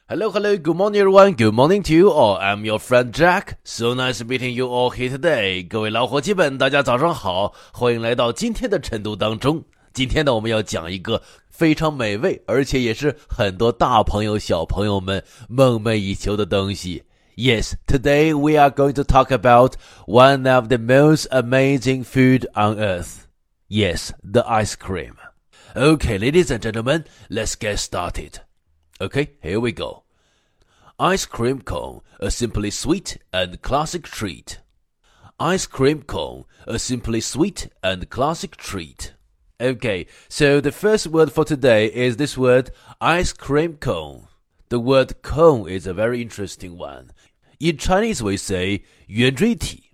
Hello, good morning everyone, good morning to you all, I'm your friend Jack, so nice meeting you all here today. 各位老伙计们，大家早上好，欢迎来到今天的晨读当中。今天呢，我们要讲一个非常美味，而且也是很多大朋友小朋友们梦寐以求的东西。Yes, today we are going to talk about one of the most amazing food on earth. Yes, the ice cream. Okay, ladies and gentlemen, let's get started.Okay, here we go. Ice cream cone, a simply sweet and classic treat. Ice cream cone, a simply sweet and classic treat. Okay, so the first word for today is this word, ice cream cone. The word cone is a very interesting one. In Chinese we say 圆锥体.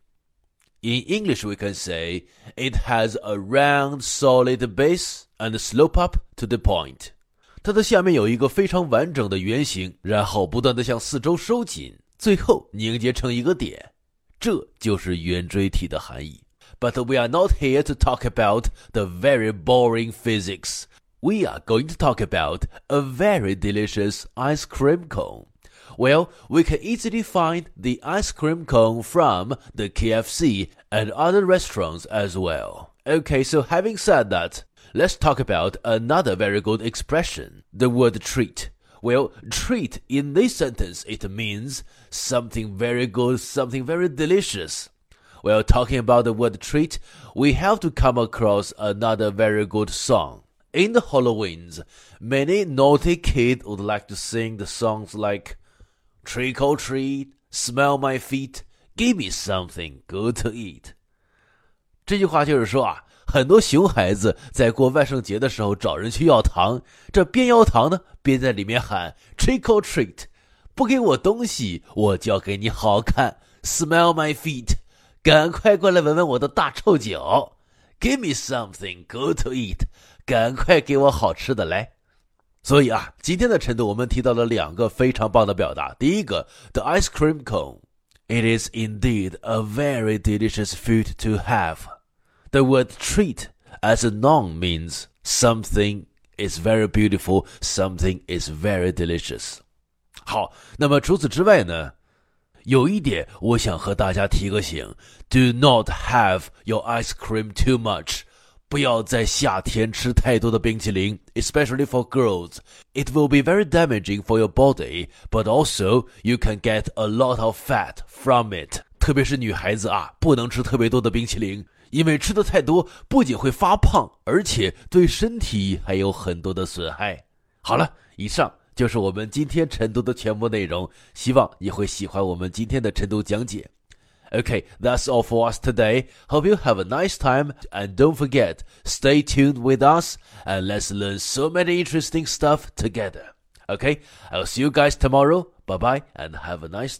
In English we can say it has a round solid base and slope up to the point.它的下面有一个非常完整的圆形，然后不断地向四周收紧，最后凝结成一个点，这就是圆锥体的含义。But we are not here to talk about the very boring physics. We are going to talk about a very delicious ice cream cone. Well, we can easily find the ice cream cone from the KFC and other restaurants as well. Okay, so having said that,Let's talk about another very good expression, the word treat. Well, treat in this sentence, it means something very good, something very delicious. Well, talking about the word treat, we have to come across another very good song. In the Halloweens, many naughty kids would like to sing the songs like Trick or treat, smell my feet, give me something good to eat. 这句话就是说啊，很多熊孩子在过万圣节的时候找人去要糖，这边要糖呢，边在里面喊 Trick or treat， 不给我东西，我就要给你好看 Smell my feet， 赶快过来闻闻我的大臭脚 Give me something good to eat， 赶快给我好吃的来。所以啊，今天的晨读我们提到了两个非常棒的表达。第一个 The ice cream cone， It is indeed a very delicious food to have.The word treat as a noun means something is very beautiful, something is very delicious. 好，那么除此之外呢，有一点我想和大家提个醒 Do not have your ice cream too much. 不要在夏天吃太多的冰淇淋 especially for girls. It will be very damaging for your body, but also you can get a lot of fat from it. 特别是女孩子啊，不能吃特别多的冰淇淋。因为吃的太多不仅会发胖，而且对身体还有很多的损害。好了，以上就是我们今天晨读的全部内容，希望你会喜欢我们今天的晨读讲解。Okay, that's all for us today. Hope you have a nice time and don't forget, stay tuned with us and let's learn so many interesting stuff together. Okay, I'll see you guys tomorrow. Bye bye and have a nice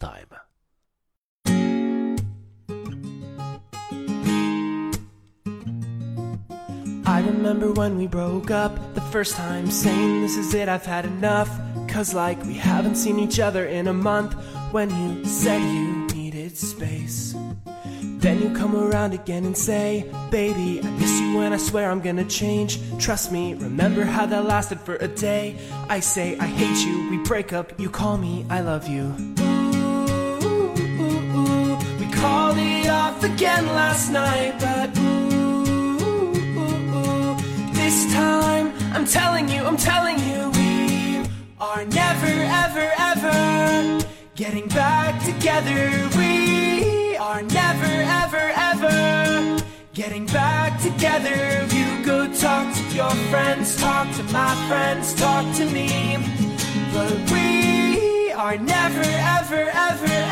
time.I remember when we broke up the first time, saying this is it, I've had enough. Cause like we haven't seen each other in a month. When you said you needed space, then you come around again and say, baby, I miss you and I swear I'm gonna change. Trust me, remember how that lasted for a day. I say I hate you, we break up, you call me, I love you. We called it off again last night, but this time, I'm telling you, we are never, ever, ever getting back together. We are never, ever, ever getting back together. You go talk to your friends, talk to my friends, talk to me. But we are never, ever, ever,